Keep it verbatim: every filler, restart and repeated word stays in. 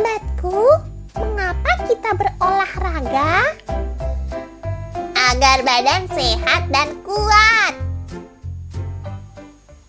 Sahabatku, mengapa kita berolahraga? Agar badan sehat dan kuat.